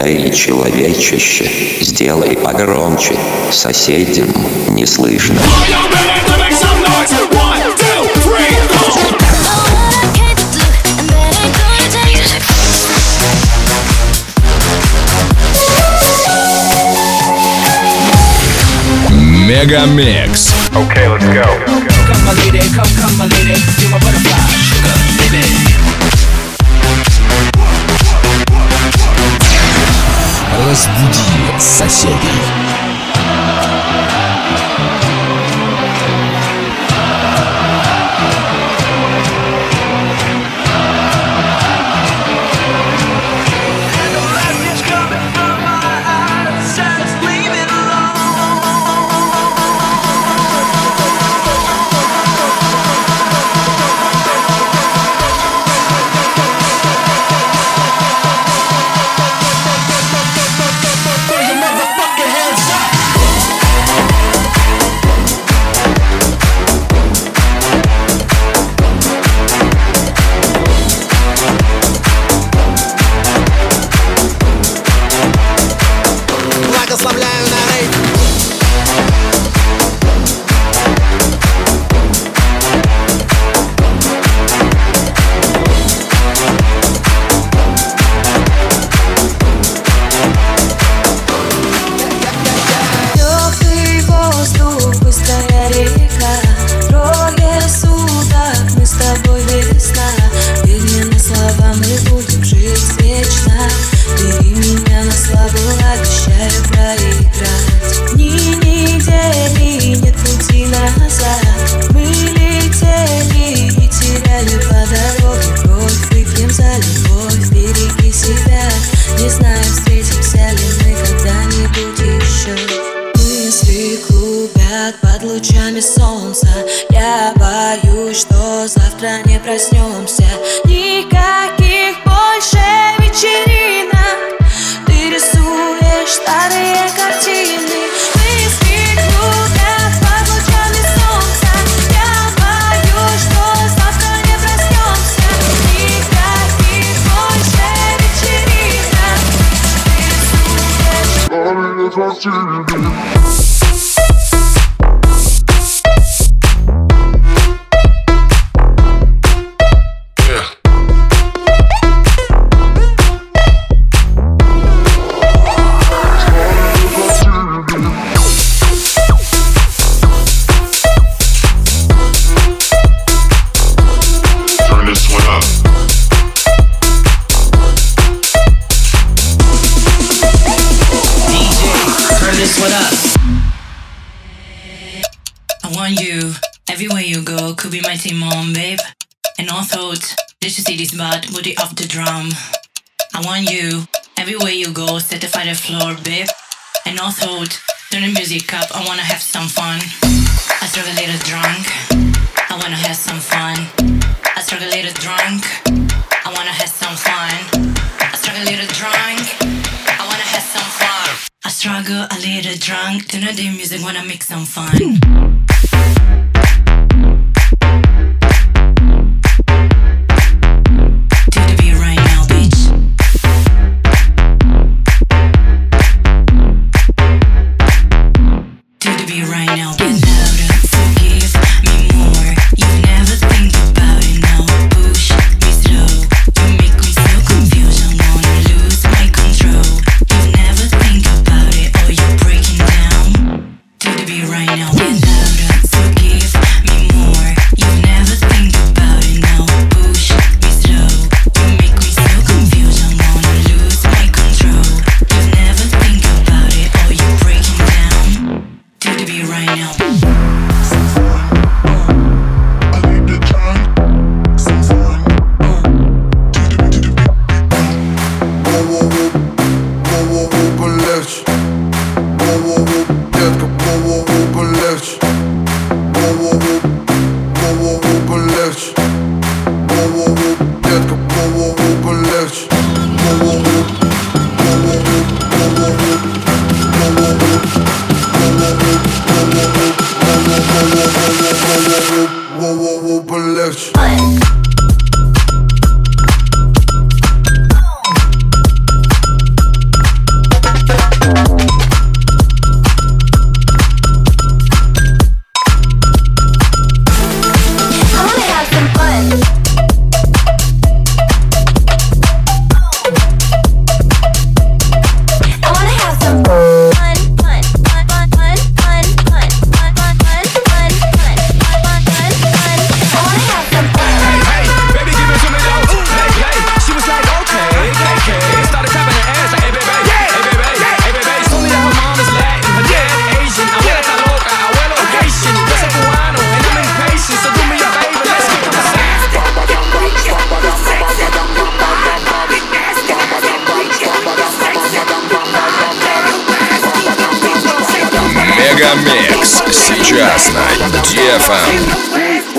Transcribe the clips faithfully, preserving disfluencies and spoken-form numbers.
Эй, человечище, сделай погромче, соседям не слышно. Мегамикс. Okay, let's go. Come my lady, come, come my lady, you're my butterfly, sugar, baby. Разбуди соседей. Booty off the drum. I want you everywhere you go. Certify the floor, babe. And no thought. Turn the music up. I wanna have some fun. I struggle a little drunk. I wanna have some fun. I struggle a little drunk. I wanna have some fun. I struggle a little drunk. I wanna have some fun. I struggle a little drunk. Turn the music. Wanna make some fun. Right now, get louder. Микс сейчас на ди эф эм.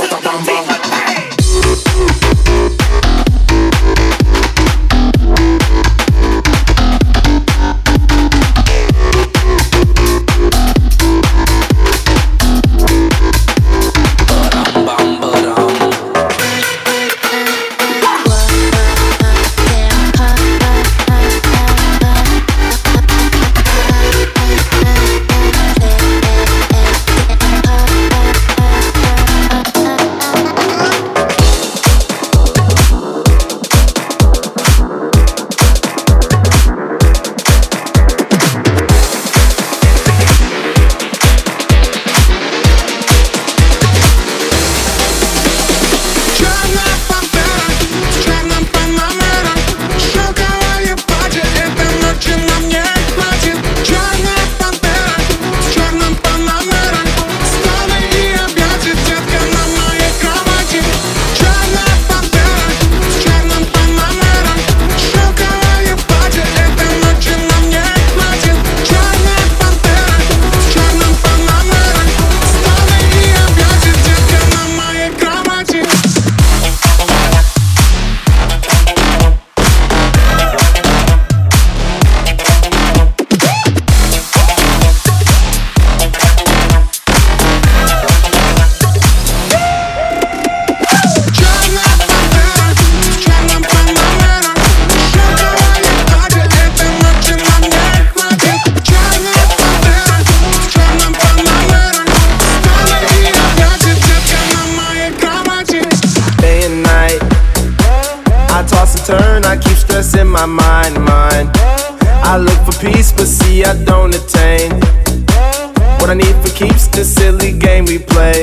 My mind, mind. I look for peace, but see I don't attain. What I need for keeps the silly game we play,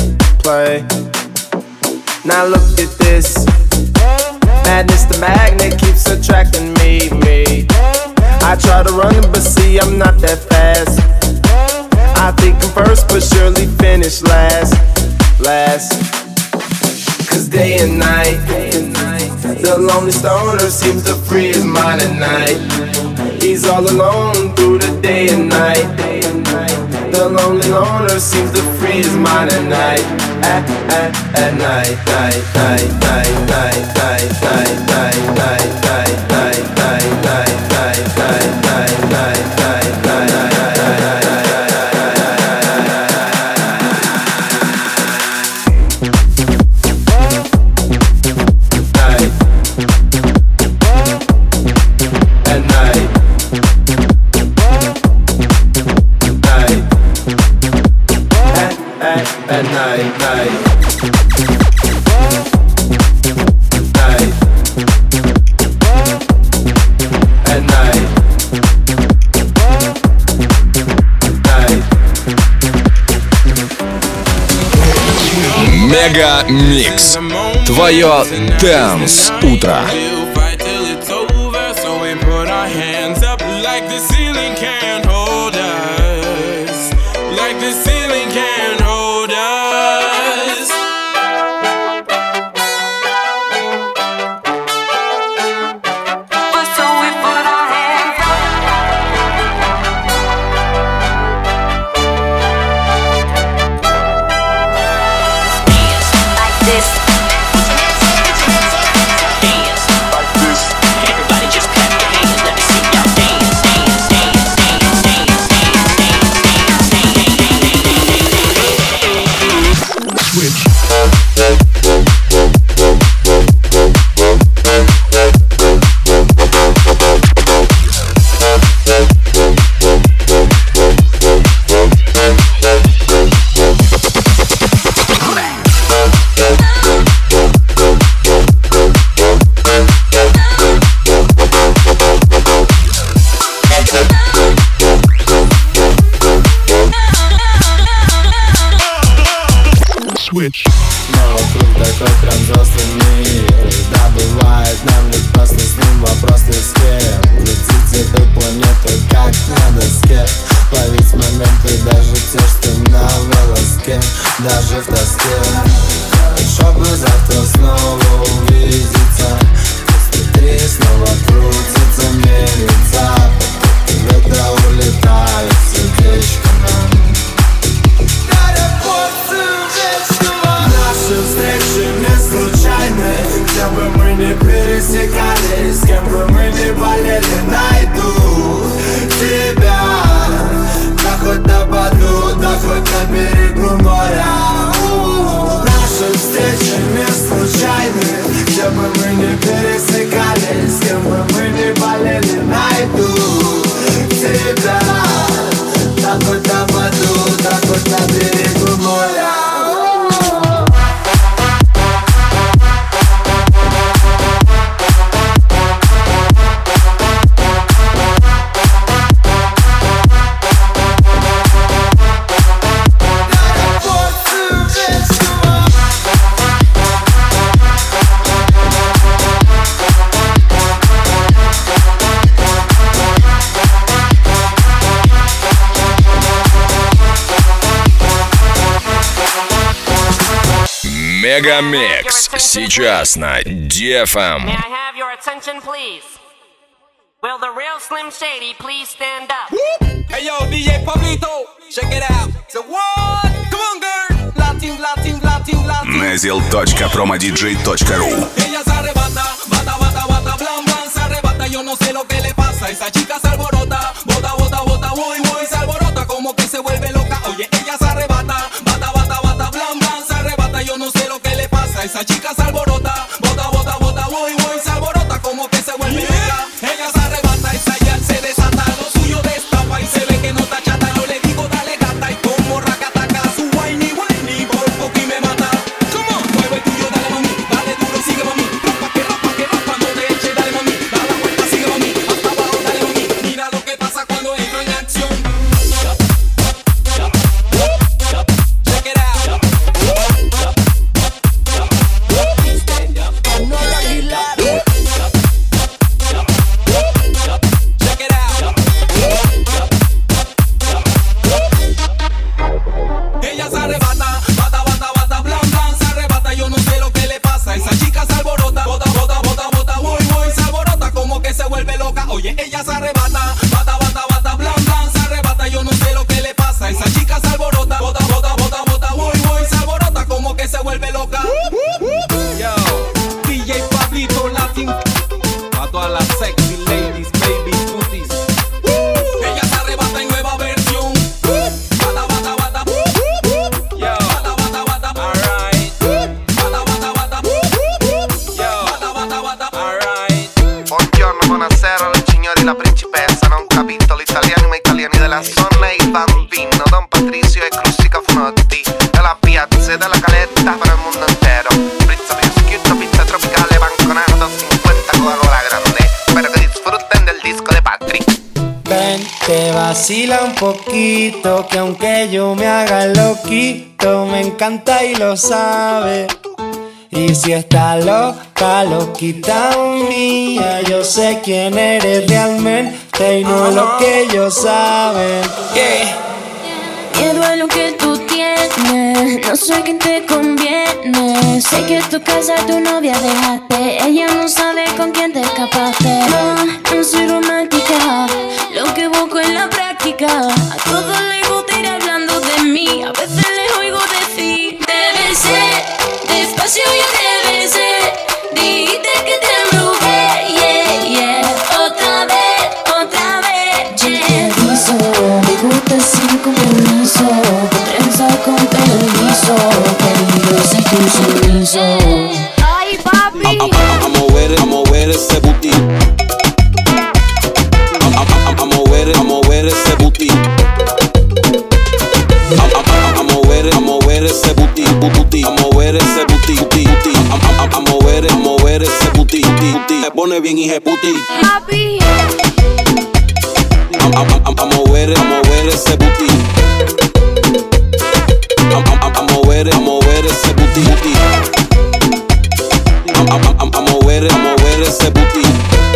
play. Now look at this. Madness, the magnet keeps attracting me, me. I try to run, but see I'm not that fast. I think I'm first, but surely finish last, last. Cause day and night, the lonely stoner seems to free his mind at night. He's all alone through the day and night. The lonely loner seems to free his mind at night. At, at, at night, night, night, night, night, night, night, night, night, night, night, night, night, night, night, night, night, night, night. At night, night, night, at night, night. Мега Микс. Твое Dance утро. Switch. Но вокруг такой прям взрослый мир. Да, бывает, нам ведь просто с ним вопрос не с кем. Летите эту планету как на доске. Ловить моменты, даже те, что на волоске. Даже в тоске. Чтобы завтра снова увидеться. Смотри, снова крутится, мерится. Ветра улетают, сердечко нам. Мегамикс сейчас на ди эф эм. May I have your attention, please? Will the real Slim Shady please stand up? Hey yo, ди джей Pablito, check it out. So what? Come on, girl. Latin, Latin, Latin, Latin. nezil точка promodj точка ru. Ella se arrebata, bata, bata, bata, blan, blan, se arrebata. Yo no sé lo que le pasa. Esa chica se alborota, bota, bota, bota, voy, voy, se alborota como que se vuelve loca. Oye, ella se arrebata, bata, bata, bata, blan, blan, se arrebata. Yo no sé lo que le pasa. Esa chica se alborota, bota, bota, bota, voy, voy, se alborota como que se vuelve loca. Ella se arrebata, esa ya se desata, lo suyo destapa y se ve que no está chata. Yo le digo dale gata y como racataca, su whiny whiny por poco y me mata. Come on, mueve el tuyo, dale mami, dale duro, sigue mami, rapa que rapa que rapa, no te eche, dale mami, da la vuelta, sigue mami, hasta abajo, dale mami, mira lo que pasa cuando entro en acción. Check it out. No la Aguilar. Check it out. Ella se arrebata, bata, bata, bata, blan, blan, se arrebata. Yo no sé lo que le pasa. Esa chica se alborota, bota, bota, bota, bota, voy, voy, se alborota como que se vuelve loca. Oye, ella se arrebata, bata, bata, bata, blan, blan, se arrebata. Yo no sé lo que le pasa. Esa chica se alborota, bota, bota, bota, bota, voy, voy, se alborota como que se vuelve loca. Yo, ди джей Pablito Latin. A todas las sexy ladies, baby, cuties. Ella se arrebata en nueva versión. Bata, bata, bata. Yo. Bata, bata, bata. Alright. Bata, bata, bata. Yo. Bata, bata, bata. Alright. Buongiorno, buonasera, le signori, la principessa. Non capito l'italiano, ma italiani della zona e il bambino. Don Patricio e Crussi Cafunotti. Della piazza e della caletta per il mondo intero. Pizza prosciutto, pizza tropicale, banconato, cincuenta Coca-Cola grande. Espero que disfruten del disco de Patrick. Ven, te vacila un poquito, que aunque yo me haga loquito, me encanta y lo sabe. Y si está loca, loquita mía, yo sé quién eres realmente y no lo que ellos saben. Yeah. Miedo a lo que tú tienes, no sé quién te conviene. Sé que tu casa tu novia dejaste, ella no sabe con quién te escapaste. No, no soy romántica, lo que busco en la práctica. A todos les gusta ir hablando de mí, a veces les oigo decir: debe ser, despacio yo debe ser. Dijiste que te embrujé, yeah, yeah. Otra vez, otra vez, yeah. Yo te aviso, me gusta sin compromiso, trenza con permiso, querido, sé tu sumiso. Ay, papi. A, a, a mover, a mover ese booty. A, a, a, a mover, a mover ese booty. A, a, a, a mover, a mover ese booty, booty. A mover ese booty, booty, booty. A, a, a, a mover, a mover ese booty, booty, booty. Se pone bien hijeputi. Papi. A, a, a, a mover, a mover ese booty. A, a, a, a mover, a mover ese booty, booty. A, a, a, a mover, a mover ese booty.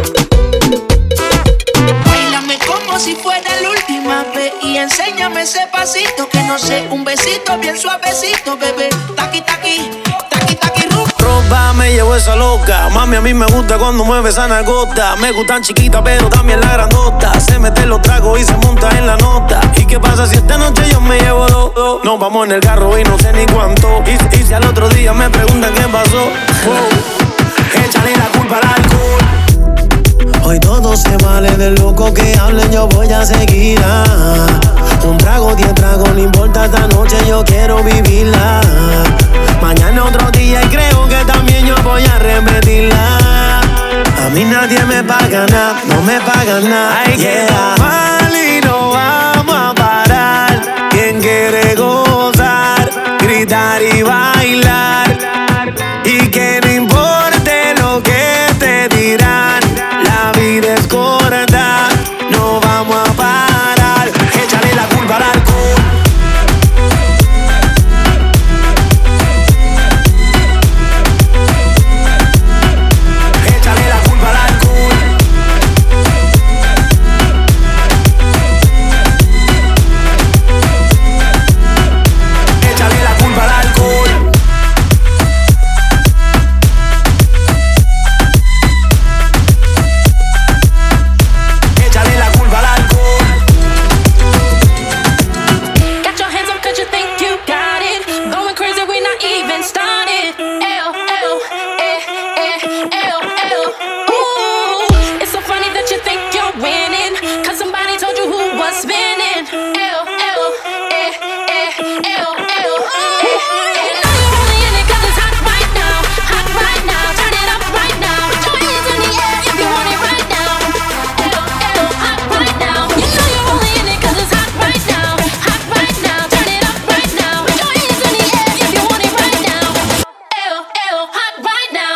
Báilame como si fuera la última vez y enséñame ese pasito que no sé, un besito bien suavecito, bebé. Taqui, taqui, taqui, taqui, ru. Roba, me llevo esa loca. Mami, a mí me gusta cuando mueve esa nalgota. Me gustan chiquita, pero también la grandota. Se mete los tragos y se monta en la nota. ¿Y qué pasa si esta noche yo me llevo dos? dos? Nos vamos en el carro y no sé ni cuánto. Y, y si al otro día me preguntan qué pasó, wow, échale la culpa al alcohol. Hoy todo se vale, de loco que hablen yo voy a seguir. Ah, un trago, diez tragos, no importa, esta noche yo quiero vivirla. Mañana otro día y creo que también yo voy a repetirla. A mí nadie me paga nada, no me paga nada. Hay que tomar y no vamos a parar. Quien quiere gozar, gritar y bailar. Y que no importe lo que te dirán, la vida es corta, no vamos a parar. Échale la culpa al alcohol. Échale la culpa al alcohol. are spinning. Ew, ew, eh, eh, ew, ew, eh, eh. You know you're only in it 'cause it's hot right now, hot right now. Turn it up right now. Put your hands in the air if you want it right now. Ew, ew, hot right now. You know you're only in it 'cause it's hot right now, hot right now. Turn it up right now. Put your hands in the air if you want it right now. Ew, ew, hot right now.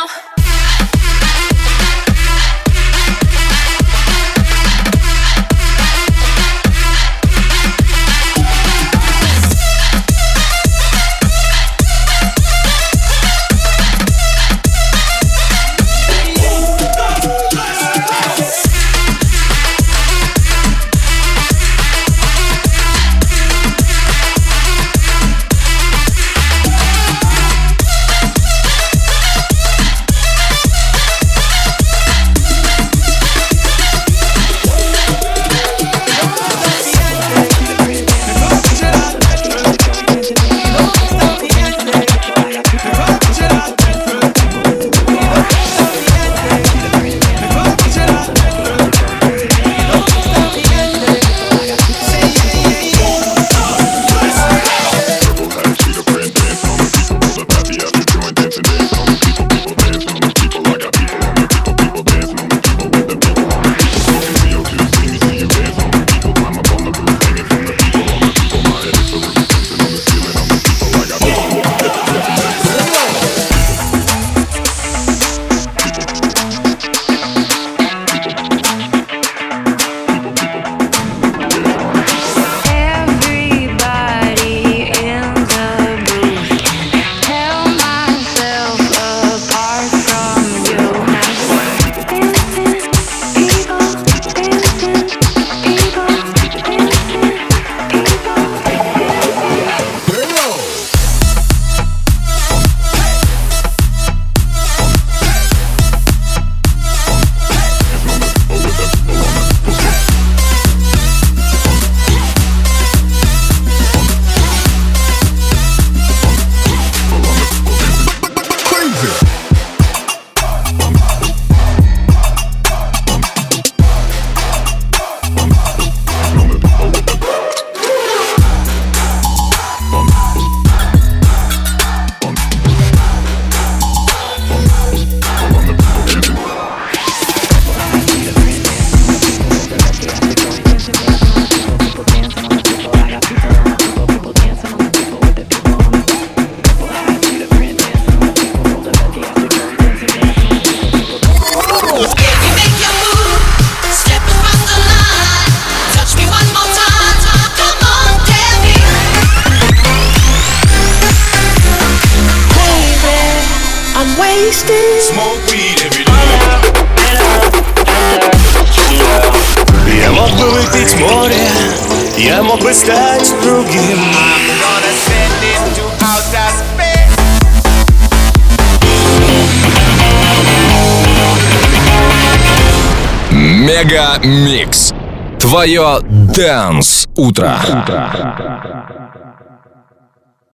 Я мог бы выпить море, я мог бы стать другим. Мега Микс. Твое Dance утро.